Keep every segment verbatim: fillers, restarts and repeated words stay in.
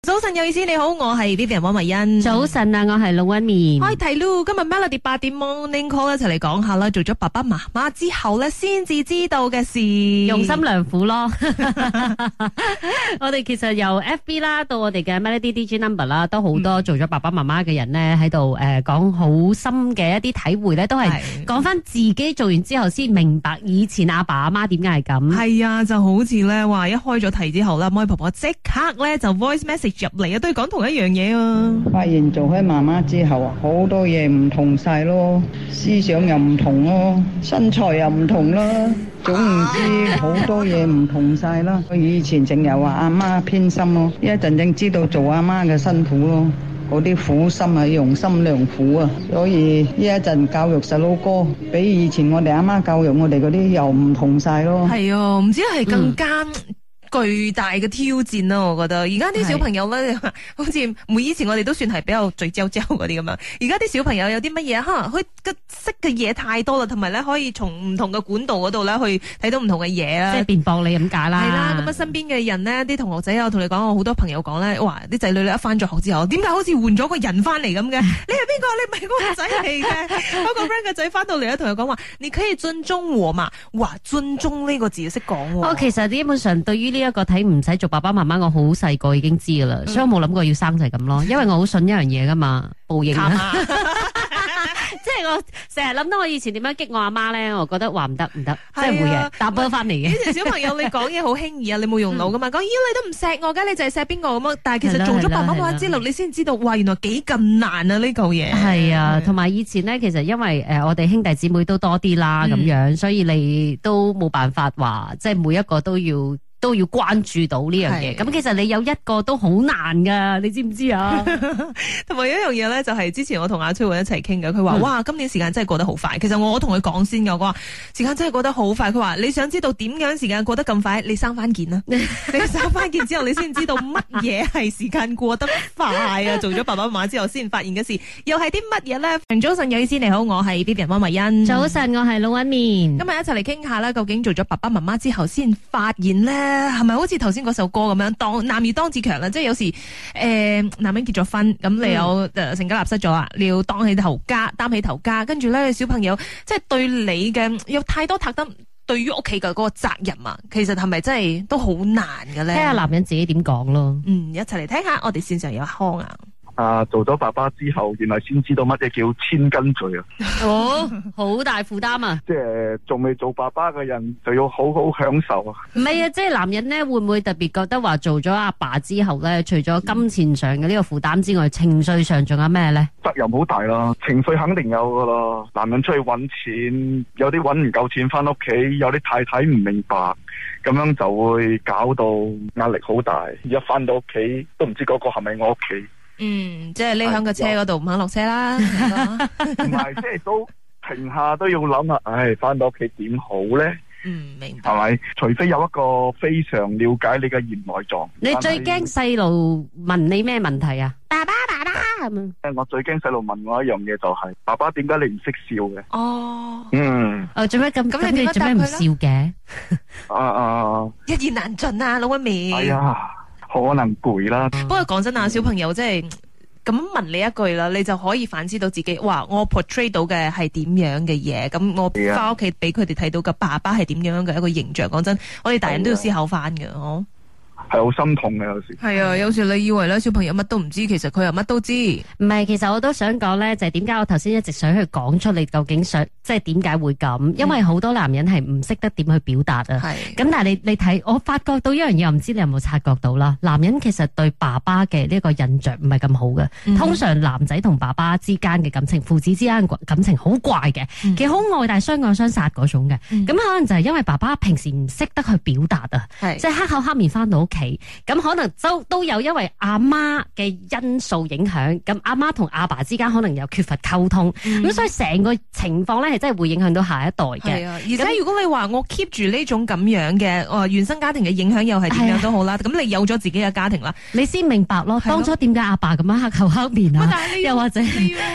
早晨有意思，你好，我係 Vivian 汪慧欣。 早晨啊，我係龍紋面。 開題咯，今日 Melody 八點 Morning Call 一齊嚟講下啦，做咗爸爸媽媽之後咧，先至知道嘅事， 用心良苦咯。我哋其實由 F B 啦到我哋嘅 Melody D J Number 啦，都好多做咗爸爸媽媽嘅人咧喺度誒講好深嘅一啲體會咧，都係講翻自己做完之後先明白以前阿爸阿媽點解係咁。 係啊，就好似咧話一開咗題之後啦，妹婆婆即刻咧就 voice message 入嚟啊，都係講同一樣嘢啊。 發現做開媽媽之後啊，好多嘢唔同晒咯，思想又唔同咯，身材又唔同啦，總唔知好多嘢唔同晒啦。我以前淨係話阿媽偏心咯，一陣正知道做阿媽嘅辛苦咯，嗰啲苦心啊，用心良苦啊，所以呢一陣教育細佬哥，比以前我哋阿媽教育我哋嗰啲又唔同晒咯。 係啊，唔知係更加、嗯巨大嘅挑戰啦，我覺得而家啲小朋友咧，好似每以前我哋都算係比較聚焦焦嗰啲咁樣，而家啲小朋友有啲乜嘢，可能佢嘅識嘅嘢太多啦，同埋咧可以從唔同嘅管道嗰度咧去睇到唔同嘅嘢啦， 即係辯駁你咁解啦。 係啦，咁啊身邊嘅人呢，啲同學仔啊，我同你講，我好多朋友講咧，哇！啲仔女咧一翻咗學之後，點解好似換咗個人翻嚟咁嘅？你係邊個？你唔係我個仔嚟嘅。嗰個 friend 嘅仔翻到嚟咧，同佢講話，你可以尊重我嘛？哇！尊重呢個字識講喎。 我其實基本上對於呢一個睇唔使做爸爸媽媽，我好細個已經知噶啦，嗯、所以我冇諗過要生就係咁咯，因為我好信一樣嘢噶嘛，報應啊！即係我成日諗到我以前點樣激我阿媽咧，我覺得話唔得唔得，即係會嘅，答波翻嚟嘅。以前小朋友你講嘢好輕易啊，你冇用腦噶嘛，講咦你都唔錫我噶，你就係錫邊個咁啊？但係其實做咗爸爸媽媽之後，你先知道哇，原來幾咁難啊呢嚿嘢。係啊，同埋以前咧，其實因為誒我哋兄弟姊妹都多啲啦，咁、嗯、樣，所以你都冇辦法話，即係每一個都要。都要關注到呢樣嘢，咁其實你有一個都好難噶，你知唔知啊？ 同埋有一樣嘢咧，就係之前我同阿崔雲一齊傾嘅，佢話、嗯、哇，今年時間真係過得好快。其實我同佢講先嘅，我話時間真係過得好快。佢話你想知道點樣時間過得咁快？你生翻件啦，你生翻件之後，你先知道乜嘢係時間過得快啊！做咗爸爸媽媽之後，先發現嘅事又係啲乜嘢咧？早晨，有意思，你好，我係 Vivian 汪慧欣。 早晨，我係龍紋面。 今日一齊嚟傾下啦，究竟做咗爸爸媽媽之後，先發現咧？係咪好似頭先嗰首歌咁樣，當男兒當自強啦？即係有時誒、呃，男人結咗婚，咁你有誒、嗯、成家立室咗啊，你要當起頭家，擔起頭家，跟住咧小朋友即係對你嘅有太多太多對於屋企嘅嗰個責任啊，其實係咪真係都好難嘅咧？ 聽下男人自己點講咯。 嗯，一齊嚟聽下，我哋線上有康啊。 啊！做咗爸爸之後，原來先知道乜嘢叫千斤罪啊！ 哦，好大負擔啊！ 即係仲未做爸爸嘅人，就要好好享受啊！ 唔係啊，即係男人咧，會唔會特別覺得話做咗阿爸之後咧，除咗金錢上嘅呢個負擔之外，情緒上仲有咩咧？ 責任好大啦，情緒肯定有噶啦。男人出去搵錢，有啲搵唔夠錢翻屋企，有啲太太唔明白，咁樣就會搞到壓力好大。一翻到屋企都唔知嗰個係咪我屋企。 嗯，即係匿喺個車嗰度唔肯落車啦。唔係，即係都停下都要諗下，唉，翻到屋企點好咧？ 嗯，明白。 係咪？除非有一個非常了解你嘅言內狀。 你最驚細路問你咩問題啊？爸爸，爸爸咁啊！ 我最驚細路問我一樣嘢就係、是，爸爸點解你唔識笑嘅？ 哦， 嗯。 哦，做咩咁？咁你做咩唔笑嘅？ 啊啊！ 一言難盡啊，老屈面。 哎呀！可能攰啦。 不過講真啊，小朋友即係咁問你一句啦，你就可以反思到自己，哇！我 portray 到嘅係點樣嘅嘢，咁我翻屋企俾佢哋睇到嘅爸爸係點樣嘅一個形象。講真，我哋大人都要思考翻嘅，嗬。 係好心痛嘅有時。係啊，有時你以為咧小朋友乜都唔知，其實佢又乜都知。 唔係，其實我都想講咧，就係點解我頭先一直想去講出你究竟想，即係點解會咁？嗯、因為好多男人係唔識得點去表達啊。係。咁但係你你睇，我發覺到一樣嘢，我唔知你有冇察覺到啦。男人其實對爸爸嘅呢個印象唔係咁好嘅。嗯、通常男仔同爸爸之間嘅感情，父子之間嘅感情好怪嘅，嗯、其實好愛但係相愛相殺嗰種嘅。咁、嗯、可能就係因為爸爸平時唔識得去表達啊，即係黑口黑面翻到屋企。咁可能都都有因為阿媽嘅因素影響，咁阿媽同阿爸之間可能有缺乏溝通，咁、嗯、所以成個情況咧係真係會影響到下一代嘅。係啊，而且如果你話我 keep 住呢種咁樣嘅、呃、原生家庭嘅影響又係點樣都好啦，咁、啊、你有咗自己嘅家庭啦，你先明白咯，當初點解阿爸咁樣黑口黑面啊？又或者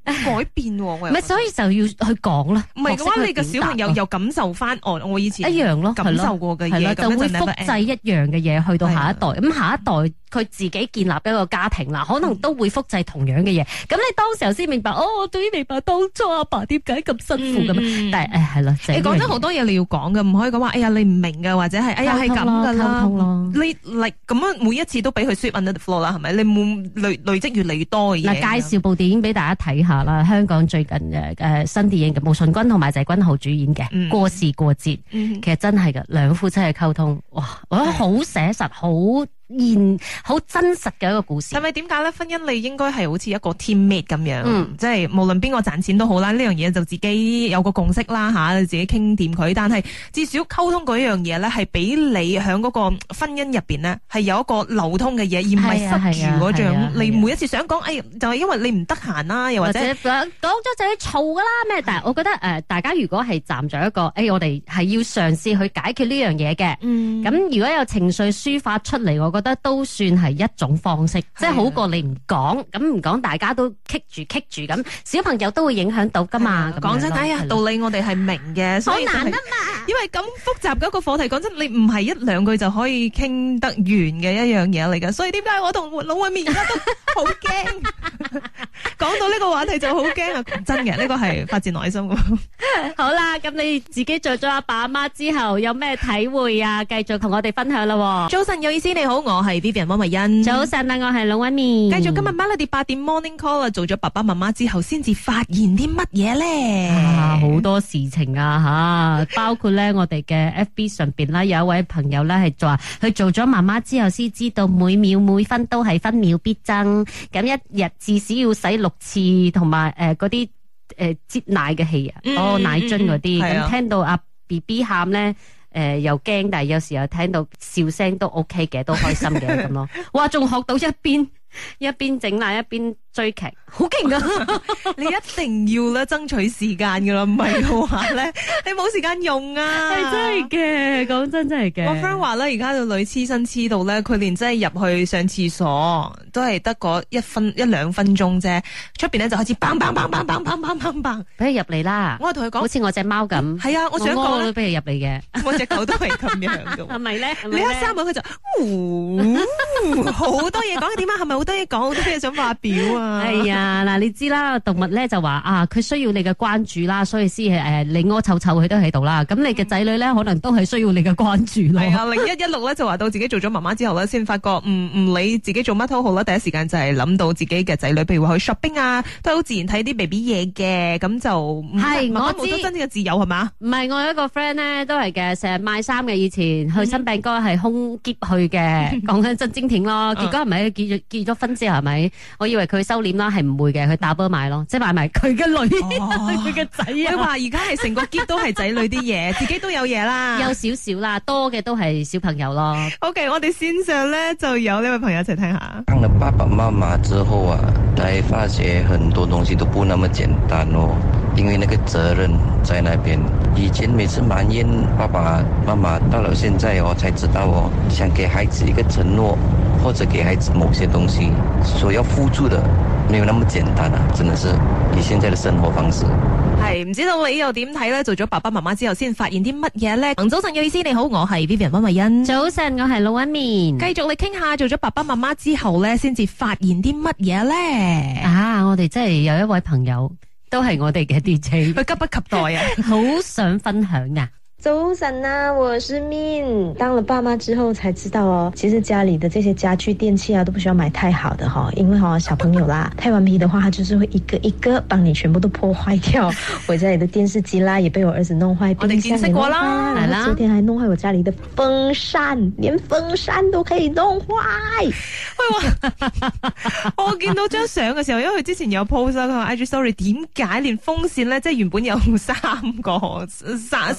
改變喎，唔係，所以就要去講啦。 唔係嘅話，你個小朋友又感受翻，哦，我以前一樣咯， 感受過嘅嘢， 就會複製一樣嘅嘢去到下一代。咁下一代佢自己建立一個家庭啦，可能都會複製同樣嘅嘢。咁你當時候先明白，哦，我終於明白當初阿爸點解咁辛苦咁。但係誒係咯， 你講真好多嘢你要講嘅，唔可以講話，哎呀你唔明嘅，或者係哎呀係咁噶啦。你嚟咁樣每一次都俾佢 sweep under the floor 啦，係咪？你冇累累積越嚟越多嘅嘢。 嗱，介紹部電影俾大家睇下啦，香港最近嘅誒新電影嘅，毛舜筠同埋謝君豪主演嘅《過時過節》，其實真係嘅兩夫妻嘅溝通，哇，我覺得好寫實，好現好真實嘅一個故事。 係咪點解咧？婚姻你應該係好似一個 teammate 咁樣，嗯、即係無論邊個賺錢都好啦，呢樣嘢就自己有個共識啦吓，自己傾掂佢。但係至少溝通嗰樣嘢咧，係俾你喺嗰個婚姻入邊咧，係有一個流通嘅嘢，而唔係塞住嗰種。你每一次想講，哎，就係因為你唔得閒啦，又或者講咗就要嘈噶啦咩？但係我覺得誒、呃，大家如果係站在一個，誒、哎，我哋係要嘗試去解決呢樣嘢嘅。咁、嗯、如果有情緒抒發出嚟，我覺得都算係一種方式，即係好過你唔講，咁唔講大家都棘住棘住咁，小朋友都會影響到噶嘛。 講真，哎呀，道理我哋係明嘅，好難啊嘛。因為咁複雜嘅一個課題，講真，你唔係一兩句就可以傾得完嘅一樣嘢嚟噶。所以點解我同老偉面而家都好驚？講到呢個話題就好驚啊！真嘅，呢個係發自內心。 好啦，咁你自己做咗阿爸阿媽之後，有咩體會啊？繼續同我哋分享啦。 早晨有意思，你好，我係 Vivian 溫慧欣。 早晨啊，我係老溫面。 繼續今日 Melody 八點 Morning Call 啊，做咗爸爸媽媽之後，先至發現啲乜嘢咧？ 啊，好多事情啊吓，包括咧我哋嘅 F B 上邊啦，有一位朋友咧係話佢做咗媽媽之後，先知道每秒每分都係分秒必爭，咁一日至少要洗六次，同埋誒嗰啲誒擠奶嘅器啊，嗯、哦奶樽嗰啲，咁、嗯、聽到阿 B B 喊咧。誒、呃，又驚，但係有時候聽到笑聲都 OK 嘅，都開心嘅咁咯。哇，仲學到一邊一邊整奶一邊追劇，好勁噶！你一定要咧爭取時間噶啦，唔係嘅話咧，你冇時間用啊！係真係嘅，講真真係嘅。我 friend 話咧，而家個女黐身黐到咧，佢連真係入去上廁所都係得嗰一分一兩分鐘啫，出邊咧就開始砰砰砰砰砰砰砰砰砰，俾佢入嚟啦！我係同佢講，好似我隻貓咁。係啊，我想講咧，俾佢入嚟嘅。我隻狗都係咁樣嘅。係咪咧？你一閂門佢就，嗚，好多嘢講，點啊？係咪好多嘢講？好多嘢想發表啊！係啊，嗱，你知啦，動物咧就話啊，佢需要你嘅關注啦，所以先係誒，你屙臭臭佢都喺度啦。咁你嘅仔女咧，可能都係需要你嘅關注咯。係啊，零一一六咧就話到自己做咗媽媽之後咧，先發覺唔唔理自己做乜都好啦，第一時間就係諗到自己嘅仔女，譬如話去 shopping 啊，都好自然睇啲 baby 嘢嘅，咁就係我知冇咗真正嘅自由係嘛？唔係，我有一個 friend 咧都係嘅，成日賣衫嘅，以前去新餅哥係空劫去嘅，講緊真精挺咯。結果係咪結咗結咗婚之後係咪？我以為佢收斂啦，係唔會嘅，佢打波買咯，即係買埋佢嘅女，佢嘅仔啊。佢話而家係成個篋都係仔女啲嘢，自己都有嘢啦，有少少啦，多嘅都係小朋友咯。OK， 我哋線上咧就有呢位朋友一齊聽下。 當了爸爸媽媽之後啊，才發覺很多東西都不那麼簡單哦，因為那個責任在那邊。以前每次埋怨爸爸媽媽，到了現在我才知道哦，想給孩子一個承諾，或者給孩子某些東西，所要付出的沒有那麼簡單啊，真的是以現在的生活方式。 係唔知道你又點睇咧？做咗爸爸媽媽之後，先發現啲乜嘢咧？早晨有意思，你好，我係 Vivian 溫慧欣。早晨，我係老一面。繼續你傾下，做咗爸爸媽媽之後咧，先至發現啲乜嘢咧？啊，我哋真係有一位朋友，都係我哋嘅 D J，佢急不及待啊，好想分享啊！ 早晨啊，我是 Min。當了爸媽之後才知道哦，其實家裏的這些家具電器啊，都不需要買太好的哈，因為哈小朋友啦，太頑皮的話，他就是會一個一個幫你全部都破壞掉。我家裏的電視機啦，也被我兒子弄壞，冰箱也弄壞啦，然後昨天還弄壞我家裏的風扇，連風扇都可以弄壞。 喂，我見到張相嘅時候，因為佢之前有 post 佢話 I G story， 點解連風扇咧，即係原本有三個三三嚿嘢。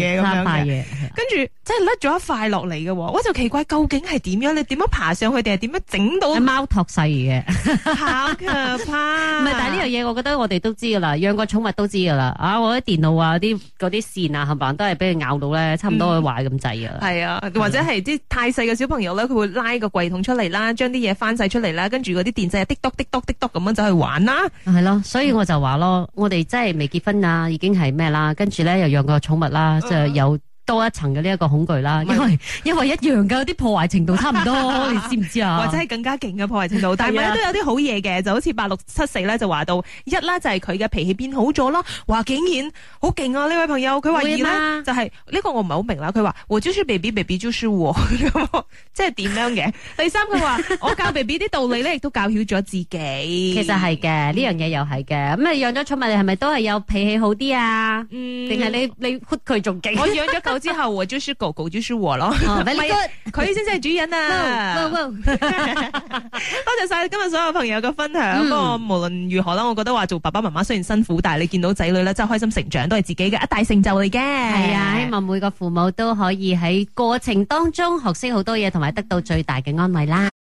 嘢咁樣嘅，跟住即係甩咗一塊落嚟嘅，我就奇怪究竟係點樣？你點樣爬上去定係點樣整到？ 貓托細嘅， 好可怕！ 唔係，但係呢樣嘢，我覺得我哋都知噶啦，養過寵物都知噶啦。啊，我啲電腦啊，啲嗰啲線啊，冚唪唥都係俾佢咬到咧，差唔多會壞咁滯噶。係、 嗯、啊，或者係啲太細嘅小朋友咧，佢會拉個櫃桶出嚟啦，將啲嘢翻晒出嚟啦，跟住嗰啲電掣滴篤滴篤滴篤咁樣走去玩啦。 係咯，所以我就話咯，我哋真係未結婚啊，已經係咩啦，跟住咧又養過寵物啦，就、嗯、有。多一層嘅呢一個恐懼啦，因為因為一樣嘅啲破壞程度差唔多，你知唔知啊？ 或者係更加勁嘅破壞程度，但係咧都有啲好嘢嘅，就好似八六七四咧就話到一啦，就係佢嘅脾氣變好咗咯。話竟然好勁啊！呢位朋友佢話二咧就係、是、呢、這個我唔係好明啦。佢話我就是 baby baby 就是我，即係點樣嘅？第三佢話我教 baby 啲道理咧，亦都教曉咗自己。 其實係嘅，呢樣嘢又係嘅。咁你養咗寵物，你係咪都係有脾氣好啲啊？嗯，定係你你屈佢仲勁？ 我養咗狗之後，我就是狗，狗就是我咯。 哦， 佢先至係主人啊！多謝晒今日所有朋友嘅分享。不過無論如何啦，我覺得話做爸爸媽媽雖然辛苦，但係你見到仔女咧真係開心成長，都係自己嘅一大成就嚟嘅。 係啊，希望每個父母都可以喺過程當中學識好多嘢，同埋得到最大嘅安慰啦。